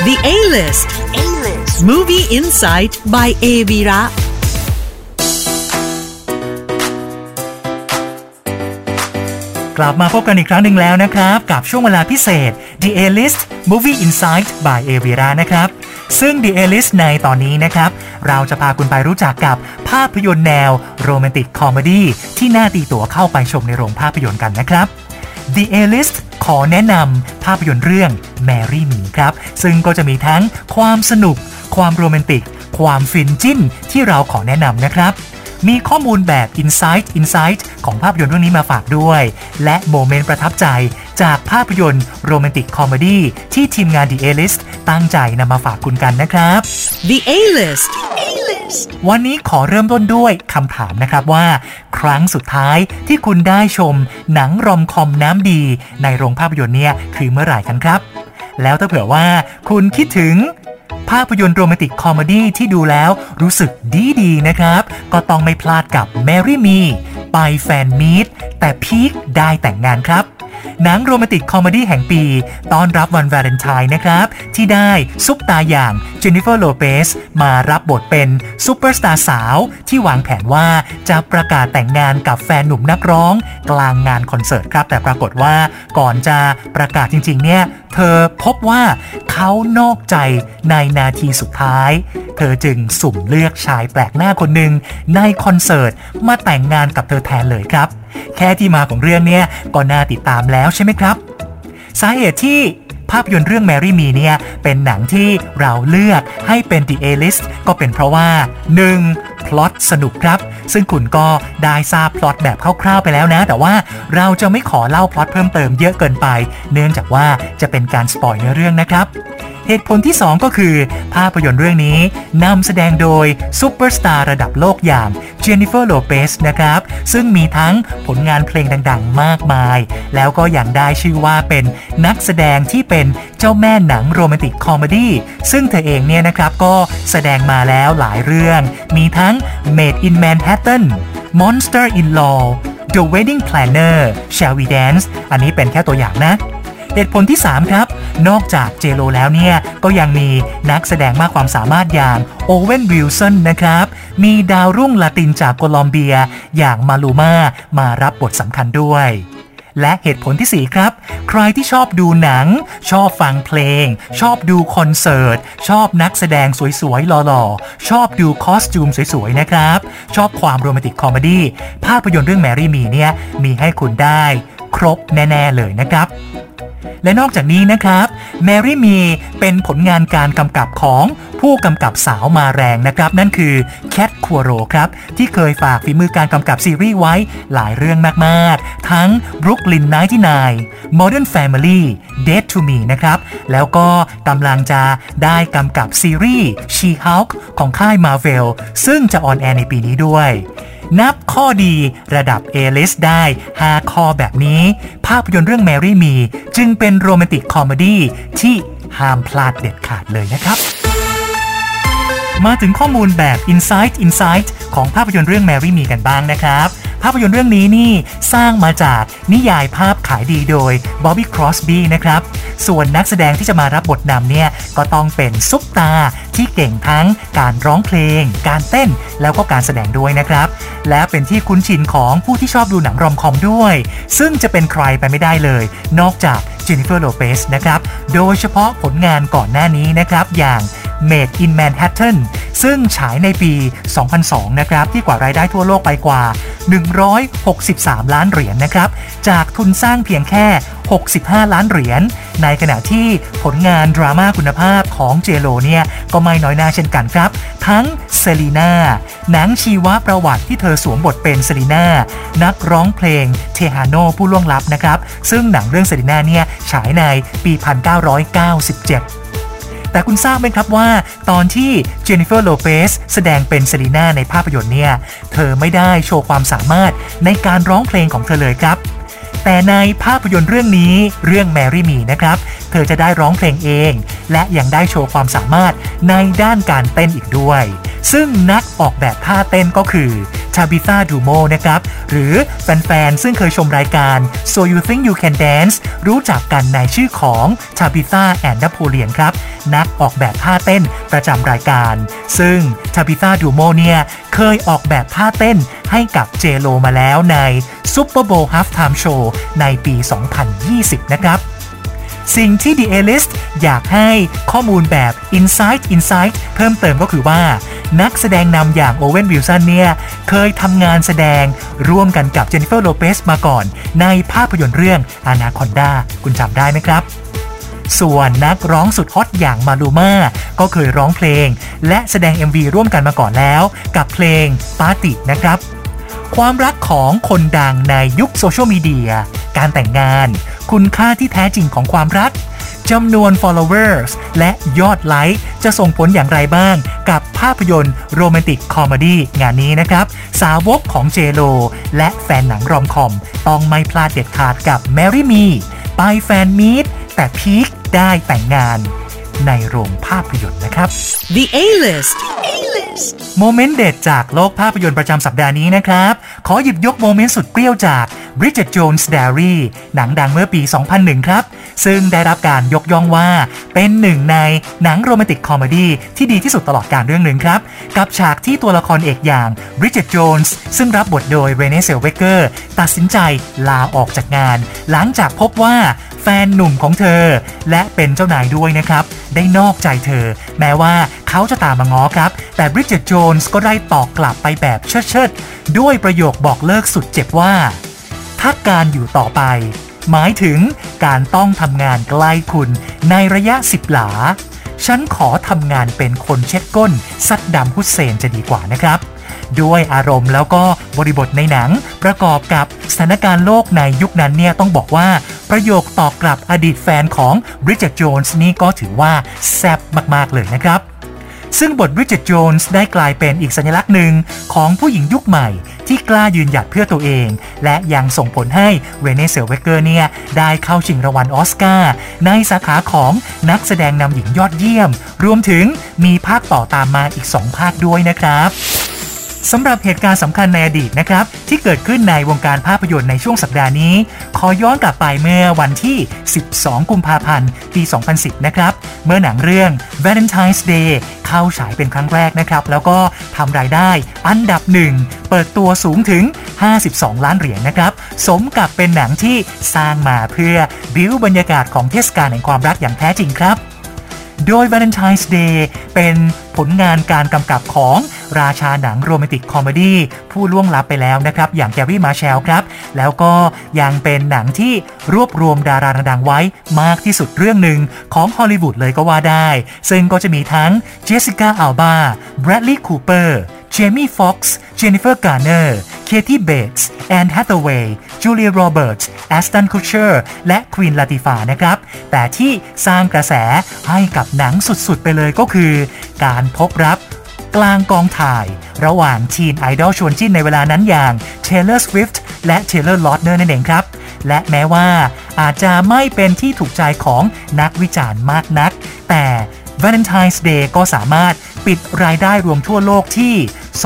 The A-List Movie Insight by Evira กลับมาพบกันอีกครั้งหนึ่งแล้วนะครับกับช่วงเวลาพิเศษ The A-List Movie Insight by Evira นะครับซึ่ง The A-List ในตอนนี้นะครับเราจะพาคุณไปรู้จักกับภาพยนตร์แนวโรแมนติกคอมเมดี้ที่น่าตีตั๋วเข้าไปชมในโรงภาพยนตร์กันนะครับ The A-List ขอแนะนำภาพยนตร์เรื่อง Marry Me ครับซึ่งก็จะมีทั้งความสนุกความโรแมนติกความฟินจิ้นที่เราขอแนะนำนะครับมีข้อมูลแบบ Insight ของภาพยนตร์เรื่องนี้มาฝากด้วยและโมเมนต์ประทับใจจากภาพยนตร์โรแมนติกคอมเมดี้ที่ทีมงาน The A-List ตั้งใจนำมาฝากคุณกันนะครับ The A-List วันนี้ขอเริ่มต้นด้วยคำถามนะครับว่าครั้งสุดท้ายที่คุณได้ชมหนังรอมคอมน้ำดีในโรงภาพยนตร์เนี่ยคือเมื่อไหร่กันครับแล้วถ้าเผื่อว่าคุณคิดถึงภาพยนตร์โรแมนติกคอมเมดี้ที่ดูแล้วรู้สึกดีๆนะครับก็ต้องไม่พลาดกับ Marry Me ไปแฟนมีตแต่พีคได้แต่งงานครับหนังโรแมนติกคอมเมดี้แห่งปีต้อนรับวันวาเลนไทน์นะครับที่ได้ซุปตาอย่างเจนนิเฟอร์โลเปซมารับบทเป็นซุปเปอร์สตาร์สาวที่วางแผนว่าจะประกาศแต่งงานกับแฟนหนุ่มนักร้องกลางงานคอนเสิร์ตครับแต่ปรากฏว่าก่อนจะประกาศจริงๆเนี่ยเธอพบว่าเขานอกใจในนาทีสุดท้ายเธอจึงสุ่มเลือกชายแปลกหน้าคนหนึ่งในคอนเสิร์ตมาแต่งงานกับเธอแทนเลยครับแค่ที่มาของเรื่องเนี่ยก็น่าติดตามแล้วใช่ไหมครับสาเหตุที่ภาพยนตร์เรื่อง Marry Me เนี่ยเป็นหนังที่เราเลือกให้เป็น The A-List ก็เป็นเพราะว่า 1. พล็อตสนุกครับซึ่งคุณก็ได้ทราบพล็อตแบบคร่าวๆไปแล้วนะแต่ว่าเราจะไม่ขอเล่าพล็อตเพิ่มเติมเยอะเกินไปเนื่องจากว่าจะเป็นการสปอยล์เนื้อเรื่องนะครับเหตุผลที่2ก็คือภาพยนตร์เรื่องนี้นำแสดงโดยซุปเปอร์สตาร์ระดับโลกอย่างเจนนิเฟอร์โลเปซนะครับซึ่งมีทั้งผลงานเพลงดังๆมากมายแล้วก็ยังได้ชื่อว่าเป็นนักแสดงที่เป็นเจ้าแม่หนังโรแมนติกคอมเมดี้ซึ่งเธอเองเนี่ยนะครับก็แสดงมาแล้วหลายเรื่องมีทั้ง Made in Manhattan Monster in Law The Wedding Planner Shall We Dance อันนี้เป็นแค่ตัวอย่างนะเหตุผลที่3ครับนอกจากเจโลแล้วเนี่ยก็ยังมีนักแสดงมากความสามารถอย่างโอเวนวิลสันนะครับมีดาวรุ่งลาตินจากโคลอมเบียอย่างมาลูมามารับบทสำคัญด้วยและเหตุผลที่4ครับใครที่ชอบดูหนังชอบฟังเพลงชอบดูคอนเสิร์ตชอบนักแสดงสวยๆหล่อๆชอบดูคอสตูมสวยๆนะครับชอบความโรแมนติกคอมเมดี้ภาพยนตร์เรื่อง Marry Me เนี่ยมีให้คุณได้ครบแน่ๆเลยนะครับและนอกจากนี้นะครับ Marry Me เป็นผลงานการกำกับของผู้กำกับสาวมาแรงนะครับนั่นคือแคทคัวโรครับที่เคยฝากฝีมือการกำกับซีรีส์ไว้หลายเรื่องมากๆทั้ง Brooklyn 99 Modern Family Dead to Me นะครับแล้วก็กำลังจะได้กำกับซีรีส์ She-Hulk ของค่าย Marvel ซึ่งจะออนแอร์ในปีนี้ด้วยนับข้อดีระดับ A-List ได้5ข้อแบบนี้ภาพยนตร์เรื่อง Marry Me จึงเป็นโรแมนติกคอมเมดี้ที่ห้ามพลาดเด็ดขาดเลยนะครับมาถึงข้อมูลแบบ Insight ของภาพยนตร์เรื่อง Marry Me กันบ้างนะครับภาพยนตร์เรื่องนี้นี่สร้างมาจากนิยายภาพขายดีโดย Bobby Crosby นะครับส่วนนักแสดงที่จะมารับบทนำเนี่ยก็ต้องเป็นซุปตาที่เก่งทั้งการร้องเพลงการเต้นแล้วก็การแสดงด้วยนะครับและเป็นที่คุ้นชินของผู้ที่ชอบดูหนังรอมคอมด้วยซึ่งจะเป็นใครไปไม่ได้เลยนอกจากเจนนิเฟอร์โลเปซนะครับโดยเฉพาะผลงานก่อนหน้านี้นะครับอย่าง Made in Manhattan ซึ่งฉายในปี 2002 นะครับที่กว่ารายได้ทั่วโลกไปกว่า163 ล้านเหรียญนะครับจากทุนสร้างเพียงแค่65 ล้านเหรียญในขณะที่ผลงานดราม่าคุณภาพของเจโลเนี่ยก็ไม่น้อยหน้าเช่นกันครับทั้งเซลีน่าหนังชีวประวัติที่เธอสวมบทเป็นเซลีน่านักร้องเพลงเทฮาโนผู้ล่วงลับนะครับซึ่งหนังเรื่องเซลีน่าเนี่ยฉายในปี 1997แต่คุณทราบไหมครับว่าตอนที่เจนนิเฟอร์โลเปซแสดงเป็นเซลีน่าในภาพยนตร์เนี่ยเธอไม่ได้โชว์ความสามารถในการร้องเพลงของเธอเลยครับแต่ในภาพยนตร์เรื่องนี้เรื่อง Marry Me นะครับเธอจะได้ร้องเพลงเองและยังได้โชว์ความสามารถในด้านการเต้นอีกด้วยซึ่งนักออกแบบท่าเต้นก็คือ Tabitha Dumo นะครับหรือแฟนๆซึ่งเคยชมรายการ So You Think You Can Dance รู้จักกันในชื่อของ Tabitha and Napoleon ครับนักออกแบบท่าเต้นประจำรายการซึ่ง Tabitha Dumo เนี่ยเคยออกแบบท่าเต้นให้กับ J-Lo มาแล้วใน Super Bowl Halftime Show ในปี 2020 นะครับสิ่งที่ The A-List อยากให้ข้อมูลแบบ Insight เพิ่มเติมก็คือว่านักแสดงนำอย่างโอเวนวิลสันเนี่ยเคยทำงานแสดงร่วมกันกับเจนนิเฟอร์โลเปสมาก่อนในภาพยนตร์เรื่อง Anaconda คุณจำได้ไหมครับส่วนนักร้องสุดฮอตอย่างมาลูม่าก็เคยร้องเพลงและแสดง MV ร่วมกันมาก่อนแล้วกับเพลง Party นะครับความรักของคนดังในยุคโซเชียลมีเดียการแต่งงานคุณค่าที่แท้จริงของความรักจำนวน followers และยอดไลค์จะส่งผลอย่างไรบ้างกับภาพยนตร์โรแมนติกคอมเมดี้งานนี้นะครับสาวกของ J-Lo และแฟนหนังรอมคอมต้องไม่พลาดเด็ดขาดกับ Marry Me ไปแฟนมีตแต่พีคได้แต่งงานในโรงภาพยนตร์นะครับ The A-List โมเมนต์เด็ดจากโลกภาพยนตร์ประจำสัปดาห์นี้นะครับขอหยิบยกโมเมนต์สุดเปรี้ยวจาก Bridget Jones' Diary หนังดังเมื่อปี 2001 ครับซึ่งได้รับการยกย่องว่าเป็นหนึ่งในหนังโรแมนติกคอมเมดี้ที่ดีที่สุดตลอดกาลเรื่องหนึ่งครับกับฉากที่ตัวละครเอกอย่าง Bridget Jones ซึ่งรับบทโดย Renee Zellweger ตัดสินใจลาออกจากงานหลังจากพบว่าแฟนหนุ่มของเธอและเป็นเจ้านายด้วยนะครับได้นอกใจเธอแม้ว่าเขาจะตามมาง้อครับแต่ Bridget Jones ก็ได้ตอบกลับไปแบบเชิดๆด้วยประโยคบอกเลิกสุดเจ็บว่าถ้าการอยู่ต่อไปหมายถึงการต้องทำงานใกล้คุณในระยะ10 หลาฉันขอทำงานเป็นคนเช็ดก้นซัดดัมฮุสเซนจะดีกว่านะครับด้วยอารมณ์แล้วก็บริบทในหนังประกอบกับสถานการณ์โลกในยุคนั้นเนี่ยต้องบอกว่าประโยคตอบกลับอดีตแฟนของ Bridget Jones นี่ก็ถือว่าแซ่บมากๆเลยนะครับซึ่งบท Bridget Jones ได้กลายเป็นอีกสัญลักษณ์หนึ่งของผู้หญิงยุคใหม่ที่กล้ายืนหยัดเพื่อตัวเองและยังส่งผลให้ Renee Zellweger เนี่ยได้เข้าชิงรางวัลออสการ์ในสาขาของนักแสดงนำหญิงยอดเยี่ยมรวมถึงมีภาคต่อตามมาอีก2 ภาคด้วยนะครับสำหรับเหตุการณ์สำคัญในอดีตนะครับที่เกิดขึ้นในวงการภาพยนตร์ในช่วงสัปดาห์นี้ขอย้อนกลับไปเมื่อวันที่12 กุมภาพันธ์ ปี 2010 นะครับเมื่อหนังเรื่อง Valentine's Day เข้าฉายเป็นครั้งแรกนะครับแล้วก็ทำรายได้อันดับ1เปิดตัวสูงถึง52 ล้านเหรียญนะครับสมกับเป็นหนังที่สร้างมาเพื่อบิ้วบรรยากาศของเทศกาลแห่งความรักอย่างแท้จริงครับโดย Valentine's Day เป็นผลงานการกำกับของราชาหนังโรแมนติกคอมเมดี้ผู้ล่วงลับไปแล้วนะครับอย่างแกรี่มาร์แชลครับแล้วก็ยังเป็นหนังที่รวบรวมดาราดังไว้มากที่สุดเรื่องหนึ่งของฮอลลีวูดเลยก็ว่าได้ซึ่งก็จะมีทั้งเจสสิก้าอัลบาแบรดลีย์คูเปอร์เจมี่ฟ็อกซ์เจนนิเฟอร์การ์เนอร์เคที่เบตส์แอนน์แฮทเธอเวย์จูเลียโรเบิร์ตส์แอสตันคูเชอร์และควีนลาติฟานะครับแต่ที่สร้างกระแสให้กับหนังสุดๆไปเลยก็คือการพบรักกลางกองถ่ายระหว่างทีนไอดอลชวนจิ้นในเวลานั้นอย่าง Taylor Swift และ Taylor Lautner นั่นเองครับและแม้ว่าอาจจะไม่เป็นที่ถูกใจของนักวิจารณ์มากนักแต่ Valentine's Day ก็สามารถปิดรายได้รวมทั่วโลกที่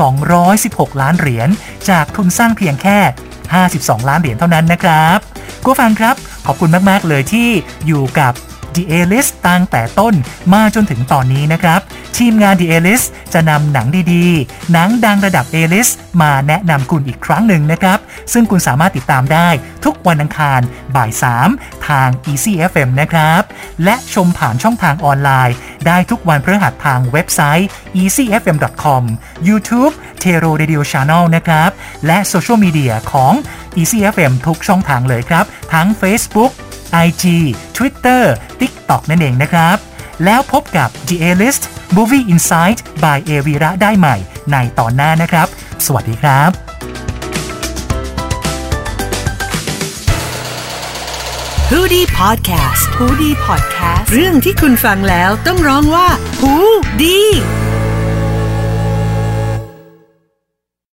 216 ล้านเหรียญจากทุนสร้างเพียงแค่52 ล้านเหรียญเท่านั้นนะครับผู้ฟังครับขอบคุณมากๆเลยที่อยู่กับ The A-List ตั้งแต่ต้นมาจนถึงตอนนี้นะครับทีมงาน The A-List จะนำหนังดีๆหนังดังระดับ A-List มาแนะนำคุณอีกครั้งหนึ่งนะครับซึ่งคุณสามารถติดตามได้ทุกวันอังคารบ่าย 3ทาง Easy FM นะครับและชมผ่านช่องทางออนไลน์ได้ทุกวันพฤหัสทางเว็บไซต์ easyfm.com YouTube Tero Radio Channel นะครับและโซเชียลมีเดียของ Easy FM ทุกช่องทางเลยครับทั้ง Facebook IG Twitter TikTok นั่นเองนะครับแล้วพบกับ The A-List Movie Insight by Avira ได้ใหม่ในตอนหน้านะครับสวัสดีครับ Hoodie Podcast เรื่องที่คุณฟังแล้วต้องร้องว่าหูดี